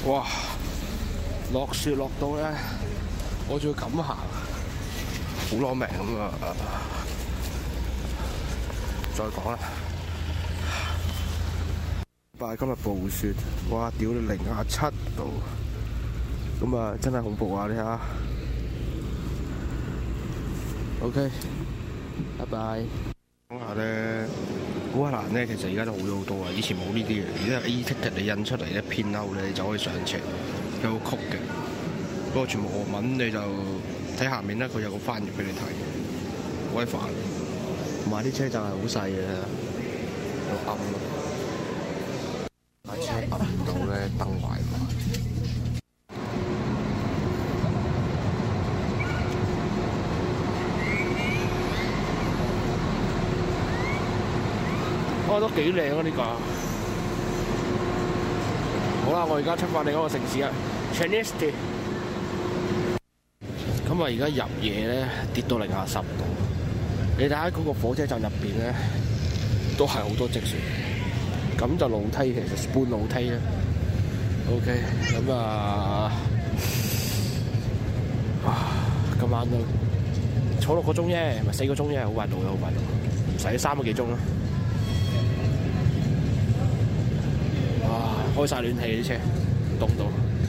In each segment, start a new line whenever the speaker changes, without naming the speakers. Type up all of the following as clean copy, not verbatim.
哇！落雪落到咧，我仲要咁行，好攞命咁啊！再講啦，但係今日暴雪，哇！屌你0°C度，咁啊真係恐怖啊！你睇下 ，OK， 拜拜。講下咧，烏克蘭咧其實而家都好咗好多啊！以前冇呢啲嘅，而家 e-ticket 你印出嚟一片歐咧，你就可以上車，有個曲嘅。不過全部俄文，你就睇下面咧，佢有個翻譯俾你睇，好鬼煩。同埋啲車站係好細嘅，又暗咯。架車撳唔到咧，燈壞埋。哦，都幾靚啊！呢個。好啦，我而家出發另一個城市啊 ，Chernivtsi。咁啊，而家入夜咧跌到0°C度。你睇下嗰個火車站入邊咧，都係好多積雪。咁就路梯其實半路梯啦。OK， 咁啊，今晚都坐6個鐘啫，咪4個鐘啫，好快到嘅，好快到，唔使3個幾鐘啦。哇！開晒暖氣啲車，凍到。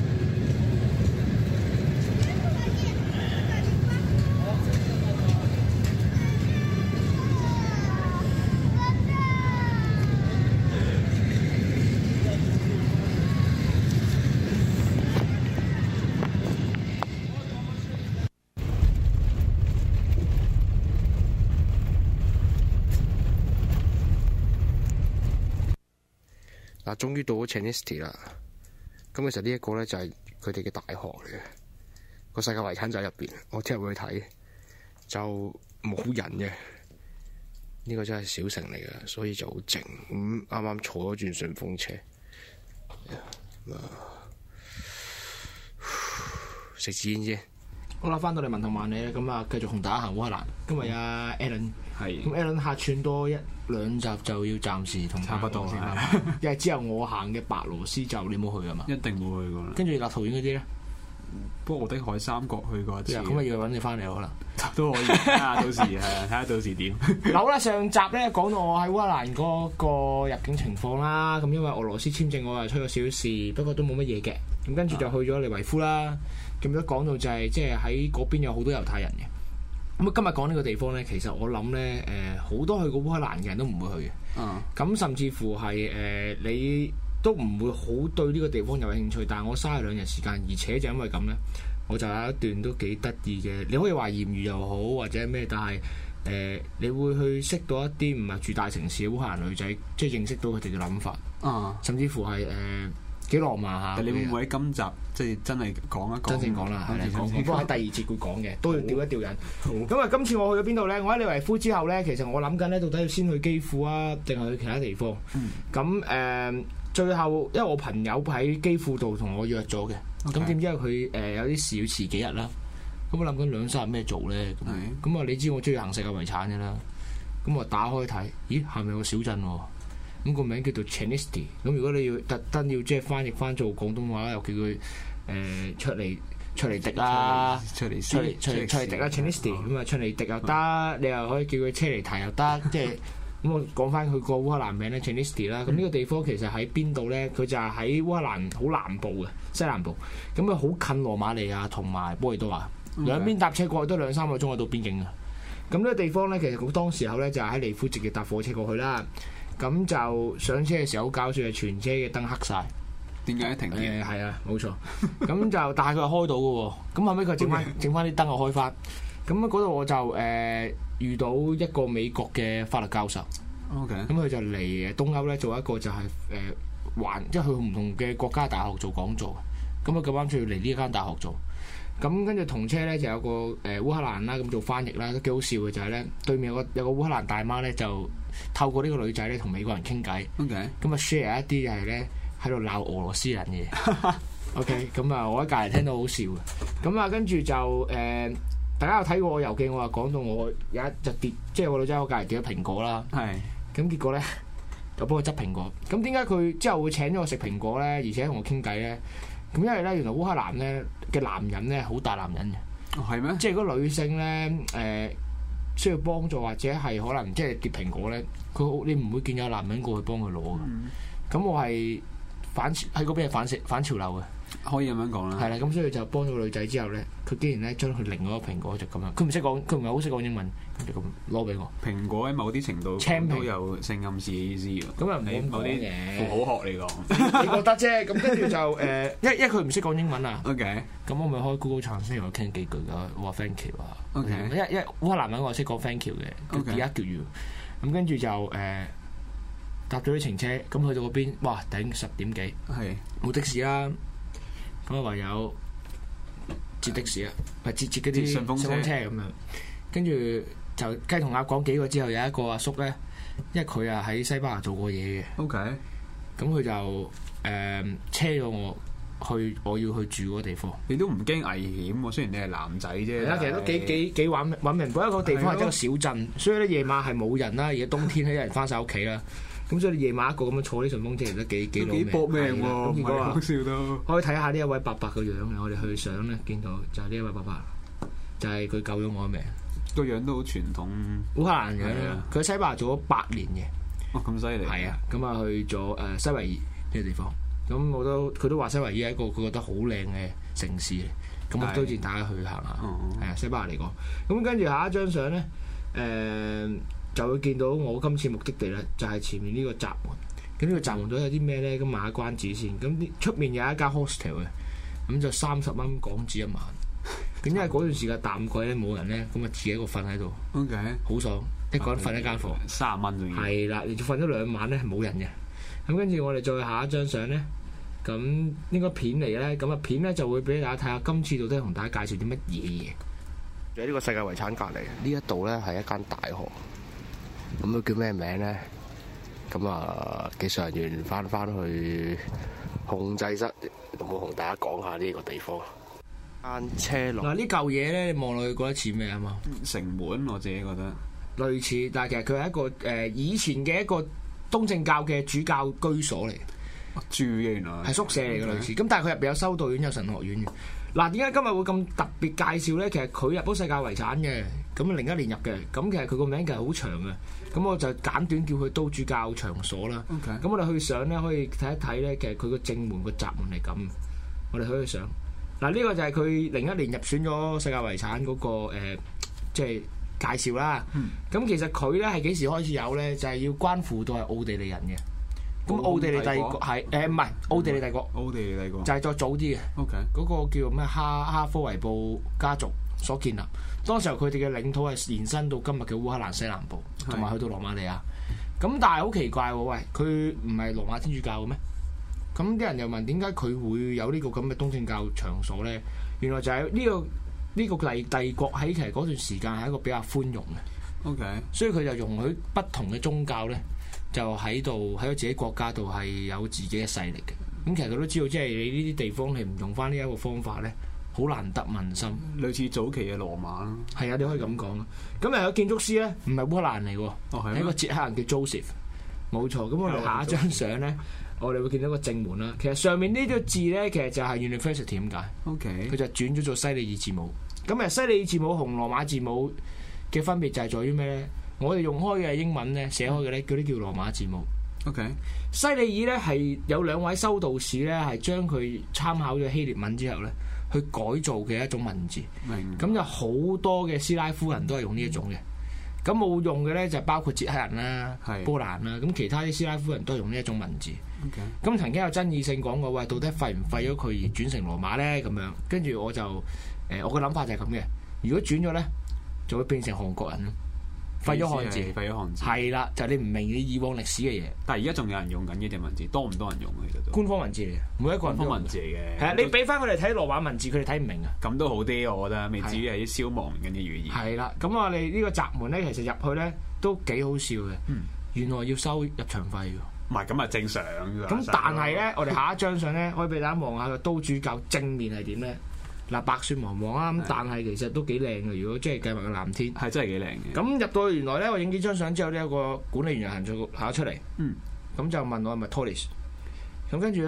嗱，終於到咗 Chernivtsi 啦。咁其實呢一個咧就係佢哋嘅大學嚟嘅，個世界遺產就喺入邊。我聽日會去睇，就冇人嘅。呢個真係小城嚟嘅，所以就好靜。咁啱啱坐咗轉順風車，食支煙先。好啦，翻到嚟文圖萬里咧，咁啊繼續同大家行烏克蘭。今日阿 Alan 係咁 Alan 客串多1-2集就要暫時同差不多先啦。因為之後我行嘅白羅斯就你冇去啊嘛？
一定冇去過啦。
跟住立陶宛嗰啲咧，
波羅的海三國去過一次。
咁啊要揾你翻嚟可能
都可以睇下到時係啊，睇下到時點。
好啦，上集咧講到我喺烏克蘭嗰個入境情況啦。咁因為俄羅斯簽證我係出咗少事，不過都冇乜嘢嘅。咁跟住就去咗利維夫啦。咁都講到就係即係喺嗰邊有好多猶太人嘅。咁今日講呢個地方咧，其實我諗咧好多去過烏克蘭嘅人都唔會去嘅。咁甚至乎係你都唔會好對呢個地方有興趣。但係我嘥2日時間，而且就因為咁咧，我就有一段都幾得意嘅。你可以話豔遇又好或者咩，但係你會去識到一啲唔係住大城市嘅烏克蘭女仔，即係認識到佢哋嘅諗法。甚至乎係幾浪漫下。
你會唔會喺今集即係真係講一講？
真正講啦，係講。不過喺第2節會講嘅，都要調一調人。咁啊，今次我去咗邊度咧？我喺利維夫之後咧，其實我諗緊咧，到底要先去基輔啊，定係去其他地方？咁最後因為我朋友喺基輔度同我約咗嘅，咁點知佢有啲事要遲幾日啦。咁我諗緊2-3日咩做咧？咁啊，你知我中意行世界遺產嘅啦。咁我打開睇，咦，下面有個小鎮喎。咁個名叫做 Chernivtsi。咁如果你要特登要即係翻譯翻做廣東話，又叫佢出嚟滴啦，出嚟滴啦 Chernivtsi。咁啊出嚟滴又得，你又可以叫佢車嚟提又得，即係咁我講翻佢個烏克蘭名咧 Chernivtsi 啦。咁呢個地方其實喺邊度咧？佢就係喺烏克蘭好南部嘅西南部。咁啊好近羅馬尼亞同埋波爾多瓦，兩邊搭車過去都2-3個鐘就到邊境嘅。咁呢個地方咧，其實好當時候咧就喺利夫直接搭火車過去啦。咁就上車嘅時候好搞笑，係全車嘅燈黑晒。
點解停嘅？
係啊，冇錯。咁就但係佢係開到嘅喎。咁後尾佢整翻啲燈又開翻。咁嗰度我就遇到一個美國嘅法律教授。
OK。咁
佢就嚟東歐咧做一個就係即係去唔同嘅國家大學做講座。咁佢咁啱就要嚟呢間大學做。咁跟住同車咧就有個烏克蘭啦，咁做翻譯啦，都幾好笑嘅就係咧對面有個烏克蘭大媽咧就透過呢個女仔咧同美國人傾偈。
OK。
咁啊 share 一啲就係咧喺度鬧俄羅斯人嘅。OK。咁啊我喺隔離聽到好笑嘅。咁啊跟住就大家有睇過我遊記，我話講到我有一隻跌，即係個女仔喺隔離跌咗蘋果啦。係。咁結果咧就幫佢執蘋果。咁點解佢之後會請咗我食蘋果咧，而且同我傾偈咧？ 咁因為咧，原來烏克蘭咧嘅男人咧好大男人嘅。
哦，係咩？
即係如果女性咧需要幫助或者係可能即係跌蘋果咧，你唔會見有男人過去幫佢攞嘅。咁我係喺嗰邊係反潮流嘅。
可以咁樣講啦。
係啦，咁所以就幫咗個女仔之後咧，佢竟然咧將佢另外一個蘋果就咁樣，佢唔識講，佢唔係好識講英文，就咁攞俾我。
蘋果喺某啲程度都有性暗示嘅意思喎。
咁又唔係
某啲符號學嚟講，
你覺得啫？咁跟住就因為佢唔識講英文啊。
OK。
咁我咪開 Google Translate 同佢傾幾句咯，我話 thank you 啊。
OK。
因為烏克蘭文我識講 thank you 嘅，而家叫 you。咁跟住就搭咗啲程車，咁去到嗰邊，哇頂10點幾，
係
冇的士啦。咁啊唯有截的士啊，咪截嗰啲順風車咁樣。跟住就雞同鴨講幾個之後，有一個阿叔咧，因為佢啊喺西班牙做過嘢嘅。
OK。咁
佢就車咗我去我要去住嗰個地方。
你都唔驚危險喎？雖然你係男仔啫。係啊，
其實都幾揾明嗰一個地方係一個小鎮，所以咧夜晚係冇人啦。而家冬天咧，有人翻晒屋企啦。咁所以你夜晚一個咁樣坐啲順風車，其實都幾搏命喎。咁結果
講笑都
可以睇下呢一位伯伯個樣嘅。我哋去相咧見到就係呢一位伯伯，就係佢救咗我嘅命。
個樣都好傳統
烏克蘭樣啦。佢喺西班牙做咗8年嘅。
哦，咁犀利！
係啊，咁啊去咗西維爾呢個地方，咁佢都話西維爾係一個佢覺得好靚嘅城市嚟，咁我推薦大家去行下。係啊，西班牙嚟講，咁跟住下一張相咧，就會見到我今次目的地咧，就係前面呢個閘門。咁呢個閘門度有啲咩咧？咁賣下關子先。咁出面有一間 hostel 嘅，咁就30蚊港紙一晚。咁因為嗰段時間淡季咧冇人咧，咁啊自己一個瞓喺度。
OK，
好爽。一個人瞓一間房
，30蚊仲要。
係啦，你瞓咗2晚咧係冇人嘅。咁跟住我哋再下一張相咧，咁應該片嚟咧，咁啊片咧就會俾大家睇下今次到底同大家介紹啲乜嘢嘢。喺呢個世界遺產隔離，呢一度咧係一間大學，咁佢叫咩名咧？咁啊，技術人員翻去控制室，有冇同大家講下呢個地方？間車路嗱，呢嚿嘢咧，你望落去覺得似咩啊嘛？
城門，我自己覺得。類
似，但係其實佢係一個以前嘅一個東正教嘅主教居所嚟，
住嘅原來
係宿舍嚟嘅類似。咁但係佢入邊有修道院、有神學院嘅。嗱，點解今日會咁特別介紹咧？其實佢入咗世界遺產嘅，咁01年入嘅。咁其實佢個名其實好長嘅，咁我就簡短叫佢都主教場所啦。咁
Okay.
我哋去上咧，可以睇一睇咧，其實佢個正門個閘門係咁。我哋可以去上。嗱，呢個就係佢01年入選咗世界遺產嗰個即係介紹啦。咁其實佢咧係幾時開始有咧？就係要關乎到係奧地利人嘅。咁奧地利帝國係唔係奧地利帝國？
奧地利帝國
就係再早啲嘅。OK，嗰個叫咩哈科維布家族所建立。當時候佢哋嘅領土係延伸到今日嘅烏克蘭西南部，同埋去到羅馬尼亞。咁但係好奇怪喎，喂，佢唔係羅馬天主教嘅咩？咁啲人又問點解佢會有呢個咁嘅東正教場所咧？原來就係呢個帝國喺其實嗰段時間係一個比較寬容嘅。OK，所以佢就容許不同嘅宗教咧，就喺自己國家度係有自己嘅勢力嘅。咁其實佢都知道，即係你呢啲地方你唔用翻呢一個方法咧，好難得民心。類似早期嘅羅馬咯。係啊，你可以咁講。咁有建築師咧，唔係烏克蘭嚟喎，係一個捷克人叫 Joseph。冇錯。咁我哋下一張相咧，我哋會見到個正門啦。其實上面呢個字咧，其實就係 University 點解？OK，佢就轉咗做西里爾字母。咁西里爾字母同羅馬字母嘅分別就係在於咩咧？我哋用開嘅英文咧，寫開嘅咧，嗰啲叫羅馬字母。OK， 西里爾咧係有2位修道士咧，係將佢參考咗希臘文之後咧，去改造嘅一種文字。明。咁有好多嘅斯拉夫人都係用呢一種嘅。咁冇用嘅咧就包括捷克人啦、波蘭啦。咁其他啲斯拉夫人都係用呢一種文字。OK。咁曾經有爭議性講過，喂，到底廢唔廢咗佢而轉成羅馬咧？咁樣跟住我就我嘅諗法就係咁嘅。如果轉咗咧，就會變成韓國人咯。廢咗漢字，係啦，就係你唔明你以往歷史嘅嘢。但係而家仲有人用緊呢隻文字，多唔多人用其實都官方文字嚟嘅，每一個人官方文字嚟嘅。係啊，你俾翻佢哋睇羅馬文字，佢哋睇唔明啊。咁都好啲，我覺得未至於係啲消亡緊嘅語言。係啦，咁我哋呢個閘門咧，其實入去咧都幾好笑嘅。原來要收入場費㗎。唔係咁啊，正常㗎。咁但係咧，我哋下一張相咧，可以俾大家望下個都主教正面係點咧。嗱，白雪茫茫啊，咁但係其實都幾靚嘅。如果即係計埋個藍天，係真係幾靚嘅。咁入到去原來咧，我影幾張相之後呢，有個管理員行咗出嚟，咁就問我係咪 tourist。咁跟住咧，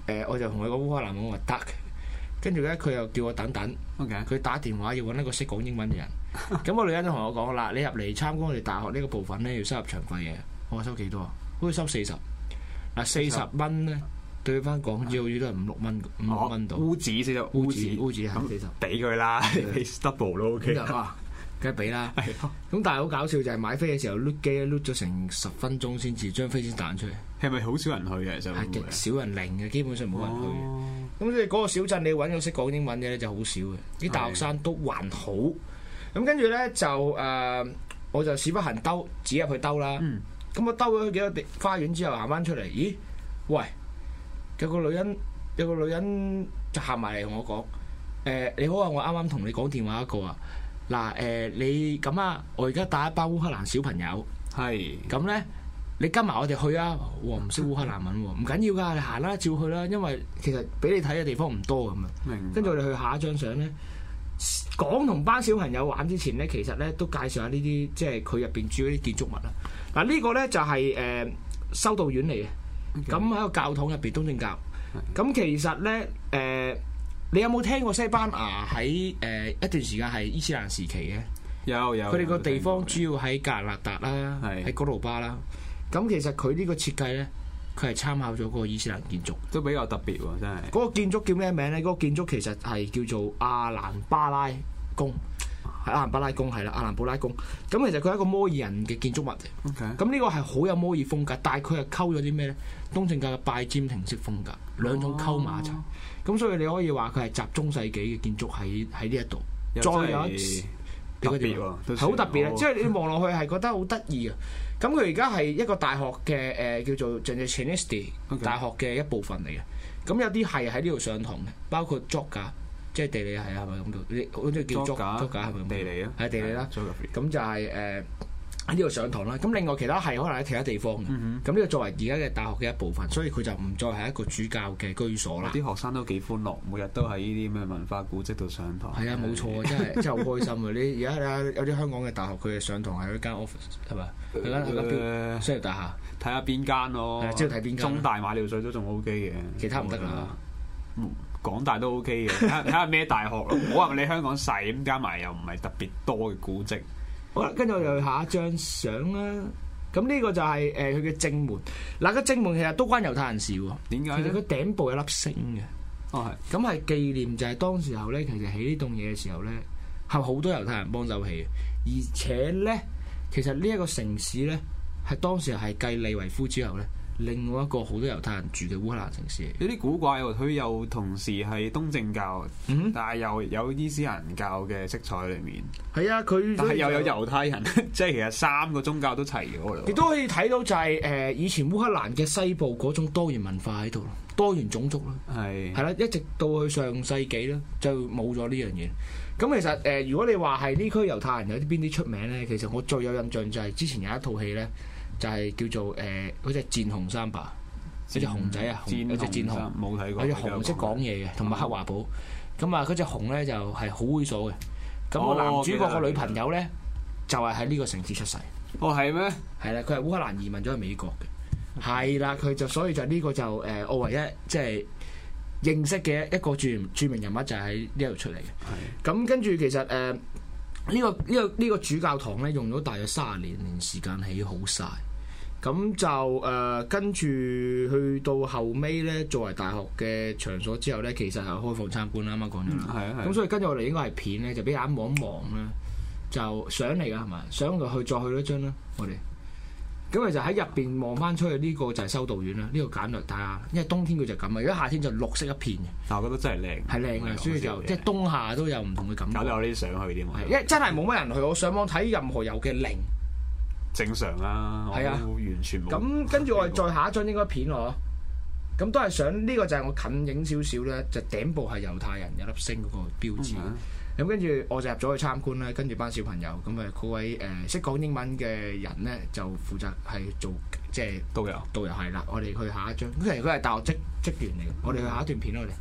我就同佢講烏克蘭文，我話得。跟住咧，佢又叫我等等。佢
Okay.
打電話要揾一個識講英文嘅人。咁個女人就同我講啦：你入嚟參觀我哋大學呢個部分咧，要收入場費嘅。我話收幾多啊？好似收40。嗱40蚊咧，對翻港紙好似都係5-6蚊，5-6蚊度。
烏紙先得，烏紙
係40。
俾佢啦，俾 double 都 OK。
梗係俾啦。咁但係好搞笑就係買飛嘅時候碌機碌咗成10分鐘先至張飛先彈出嚟。
係咪好少人去嘅？就
係極少人零嘅，基本上冇人去嘅。咁即係嗰個小鎮，你揾個識講英文嘅咧就好少嘅。啲大學生都還好。咁跟住咧就我就屎不行兜，指入去兜啦。咁我兜咗幾個花園之後行翻出嚟，咦？喂！有個女人就行埋嚟同我講：你好啊，我啱啱同你講電話一個啊。嗱你咁啊，我而家帶一班烏克蘭小朋友。係。咁咧，你跟埋我哋去啊！我唔識烏克蘭文喎，唔緊要㗎，你行啦，照去啦。因為其實俾你睇嘅地方唔多咁啊。明白。跟住我哋去下一張相咧，講同班小朋友玩之前咧，其實咧都介紹下呢啲即係佢入邊住嗰啲建築物啦。嗱呢個咧就係修道院嚟嘅。咁喺個教堂入邊，東正教。咁其實咧你有冇聽過西班牙喺一段時間係伊斯蘭時期嘅？有。佢哋個地方主要喺格蘭納達啦，喺哥魯巴啦。咁其實佢呢個設計咧，佢係參考咗嗰個伊斯蘭建築，都比較特別喎，真係。嗰個建築叫咩名咧？嗰個建築其實係叫做阿蘭巴拉宮。阿蘭巴拉宮係啦，阿蘭布拉宮。咁其實佢係一個摩爾人嘅建築物嚟。咁呢個係好有摩爾風格，但係佢係溝咗啲咩咧？東正教嘅拜占庭式風格，兩種溝埋一齊。咁所以你可以話佢係集中世紀嘅建築喺呢一度。再有一次特別喎，係好特別啊！即係你望落去係覺得好得意啊！咁佢而家係一個大學嘅叫做 Jansenist 大學嘅一部分嚟嘅。咁有啲係喺呢度上堂嘅，包括 Geog。即係地理係咪咁叫？你好似叫作假係咪咁？地理啊，係地理啦。咁就係喺呢度上堂啦。咁另外其他係可能喺其他地方嘅。咁呢個作為而家嘅大學嘅一部分，所以佢就唔再係一個主教嘅居所啦。啲學生都幾歡樂，每日都喺呢啲咩文化古蹟度上堂。係啊，冇錯，真係好開心啊！你而家有啲香港嘅大學，佢哋上堂係一間 office 係咪？係間商業大廈。睇下邊間咯。係，知道睇邊間。中大馬料水都仲 OK 嘅，其他唔得㗎。港大都 OK 嘅，睇下咩大學咯。唔好話你香港細咁，加埋又唔係特別多嘅古蹟。好啦，跟住我又去下一張相啦。咁呢個就係佢嘅正門。嗱，個正門其實都關猶太人事喎。點解？其實佢頂部有粒星嘅。哦，係。咁係紀念就係當時候咧，其實起呢棟嘢嘅時候咧，係好多猶太人幫手起嘅。而且咧，其實呢一個城市咧，係當時係繼利維夫之後咧，另外一個好多猶太人住嘅烏克蘭城市，有啲古怪喎。佢又同時係東正教，但係又有伊斯蘭教嘅色彩裏面。係啊，佢但係又有猶太人，即係其實3個宗教都齊咗啦。亦都可以睇到就係以前烏克蘭嘅西部嗰種多元文化喺度，多元種族啦。係啦，一直到去上世紀咧，就冇咗呢樣嘢。咁其實如果你話係呢區猶太人有啲邊啲出名咧，其實我最有印象就係之前有一套戲咧。就係叫做嗰隻戰紅三爸，嗰隻熊仔啊，有隻戰紅，冇睇過。有隻熊識講嘢嘅，同埋黑華寶。咁啊，嗰隻熊咧就係好猥瑣嘅。咁個男主角個女朋友咧就係喺呢個城市出世。哦，係咩？係啦，佢係烏克蘭移民咗去美國嘅。係啦，佢就所以就呢個就我唯一即係認識嘅一個著名人物就係喺呢度出嚟嘅。咁跟住其實呢個主教堂咧用咗大約30年時間起好晒。咁就跟住去到後尾咧，作為大學嘅場所之後咧，其實係開放參觀啦，啱啱講咗啦。係啊，咁所以跟住我哋應該係片咧，就俾大家望一望啦，就相嚟㗎係咪？相就去再去一張啦，我哋。咁就喺入邊望翻出去，呢個就係修道院啦。呢個簡略睇下，因為冬天佢就咁啊，如果夏天就綠色一片嘅。但我覺得真係靚，係靚嘅，所以就即係冬夏都有唔同嘅感覺。搞到有啲想去添，因為真係冇乜人去，我上網睇任何遊嘅零。正常啦，係啊，完全冇。咁跟住我哋再下一張應該片我，咁都係想呢個就係我近影少少咧，就頂部係猶太人有粒星嗰個標誌。咁跟住我就入咗去參觀啦，跟住班小朋友咁嗰位識講英文嘅人咧就負責係做即係導遊係啦。我哋去下一張，其實佢係大學職員嚟嘅。我哋去下一段片我哋。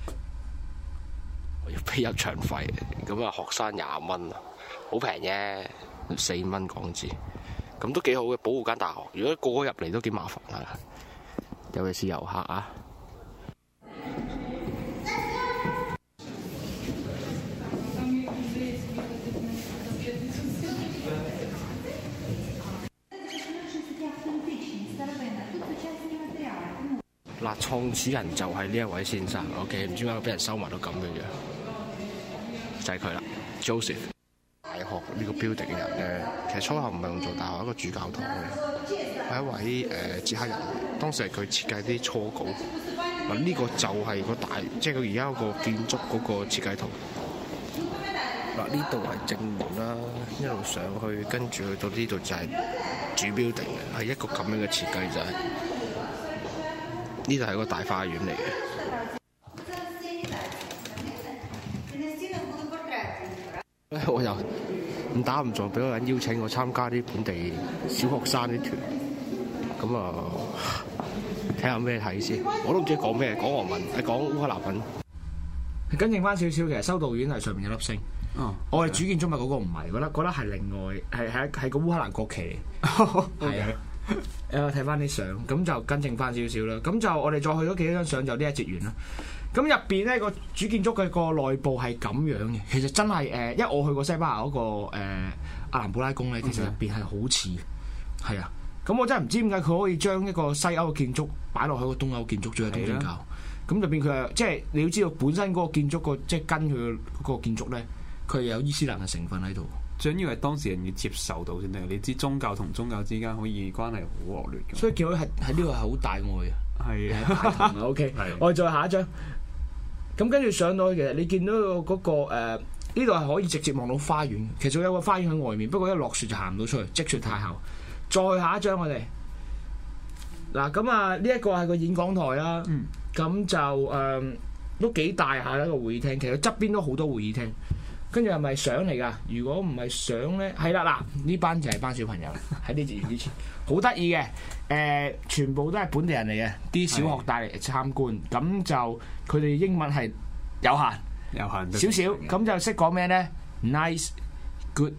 我要俾入場費，咁啊學生20蚊啊，好平啫，4蚊港紙。咁都幾好嘅，保護間大學。如果個個入嚟都幾麻煩啊，尤其是遊客啊。 嗱，創始人就係呢一位先生 ，OK， 唔知點解俾人收埋到咁嘅樣，就係佢啦 ，Joseph。大學呢個 building 嘅人咧，其實初頭唔係用做大學一個主教堂嘅，係一位捷克人，當時係佢設計啲初稿。嗱，呢個就係個大，即係佢而家嗰個建築嗰個設計圖。嗱，呢度係正門啦，一路上去，跟住去到呢度就係主 building 嘅，係一個咁樣嘅設計就係。呢度係個大花園嚟嘅。我又唔打唔撞，俾個人邀請我參加啲本地小學生啲團，咁啊睇下咩睇先。我都唔知講咩，講俄文，講烏克蘭文。跟正翻少少，其實修道院係上面有粒星。我哋主建築物嗰個唔係，覺得係另外係個烏克蘭國旗。係啊。睇翻啲相，咁就跟正翻少少啦。咁就我哋再去咗幾張相，就呢一節完啦。咁入邊咧個主建築嘅個內部係咁樣嘅，其實真係因為我去過西班牙嗰個阿蘭布拉宮咧，其實入邊係好似係啊。咁我真係唔知點解佢可以將一個西歐嘅建築擺落去個東歐建築，仲係東正教。咁入邊佢係即係你要知道本身嗰個建築個即係跟佢嗰個建築咧，佢有伊斯蘭嘅成分喺度。
最緊要係當事人要接受到先得，你知宗教同宗教之間可以關係好惡劣嘅。所以見到喺
呢度係好大愛啊！
係啊
，OK，我哋再下一張。咁跟住上到去，其實你見到嗰個呢度係可以直接望到花園。其實有個花園喺外面，不過一落雪就行唔到出去，積雪太厚。再下一張我哋嗱，咁啊呢一個係個演講台啦。咁就都幾大下一個會議廳，其實側邊都好多會議廳。跟住係咪相嚟㗎？如果唔係相咧，係啦嗱，呢班就係班小朋友喺呢節完之前，好得意嘅，全部都係本地人嚟嘅，啲小學帶嚟參觀，咁就佢哋英文係有限少少，咁就識講咩咧 ？Nice, good,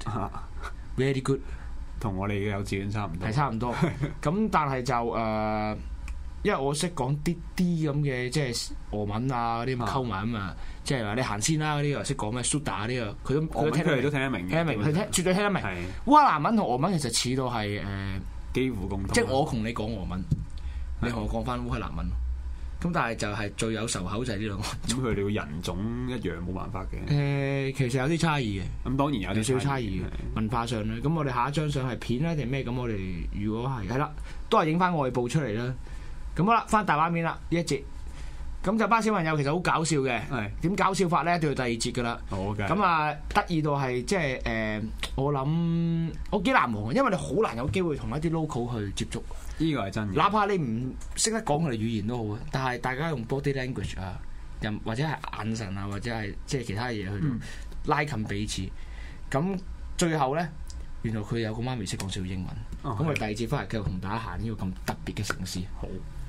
very good，
同我哋嘅幼稚園差唔多，
係差唔多。咁但係就因為我識講啲咁嘅，即係俄文啊嗰啲咁溝埋啊嘛。即係話你行先啦嗰啲又識講咩 Suda 呢個，佢都聽得明，佢絕對聽得明。烏克蘭文同俄文其實似到係
幾乎共通。
即係我同你講俄文，你同我講翻烏克蘭文。咁但係就係最有仇口就係呢兩個。
咁佢哋個人種一樣冇辦法嘅。
其實有啲差異嘅。咁當然有啲少差異嘅文化上咧。咁我哋下一張相係片咧定咩？咁我哋如果係啦，都係影翻外部出嚟啦。咁好啦，翻大畫面啦呢一節。咁就班小朋友其實好搞笑嘅，點搞笑法咧？到第二節噶啦。好嘅。咁啊，得意到係即係我諗我幾難忘，因為你好難有機會同一啲 local 去接觸。
呢個係真嘅。哪
怕你唔識得講佢哋語言都好啊，但係大家用 body language 啊，或者係眼神啊，或者係即係其他嘢去拉近彼此。咁最後咧，原來佢有個媽咪識講少英文。咁我哋第二節翻嚟繼續同大家行呢個咁特別嘅城市。好。